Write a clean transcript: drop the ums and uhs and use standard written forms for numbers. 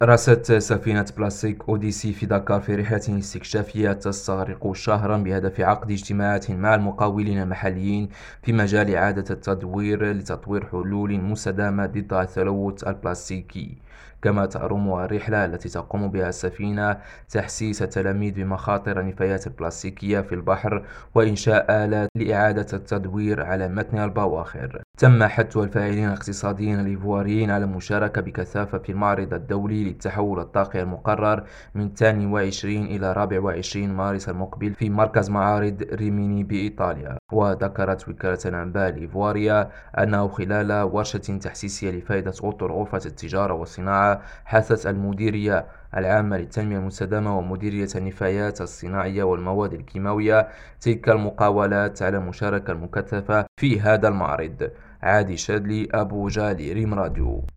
رست سفينة بلاستيك أوديسي في دكار في رحلة استكشافية تستغرق شهرا بهدف عقد اجتماعات مع المقاولين المحليين في مجال إعادة التدوير لتطوير حلول مستدامة ضد التلوث البلاستيكي. كما ترمز الرحلة التي تقوم بها السفينة تحسيس التلاميذ بمخاطر النفايات البلاستيكية في البحر وإنشاء آلات لإعادة التدوير على متن البواخر. تم حث الفاعلين الاقتصاديين الإيفواريين على المشاركة بكثافة في المعرض الدولي للتحول الطاقي المقرر من 22 إلى 24 مارس المقبل في مركز معارض ريميني بإيطاليا. وذكرت وكالة الأنباء الإيفوارية أنه خلال ورشة تحسيسية لفائدة أطر غرفة التجارة والصناعة حثت المديرية العامة للتنمية المستدامة ومديرية النفايات الصناعية والمواد الكيماوية تلك المقاولات على المشاركة المكثفة في هذا المعرض. عادي شادلي، أبو جالي، ريم راديو.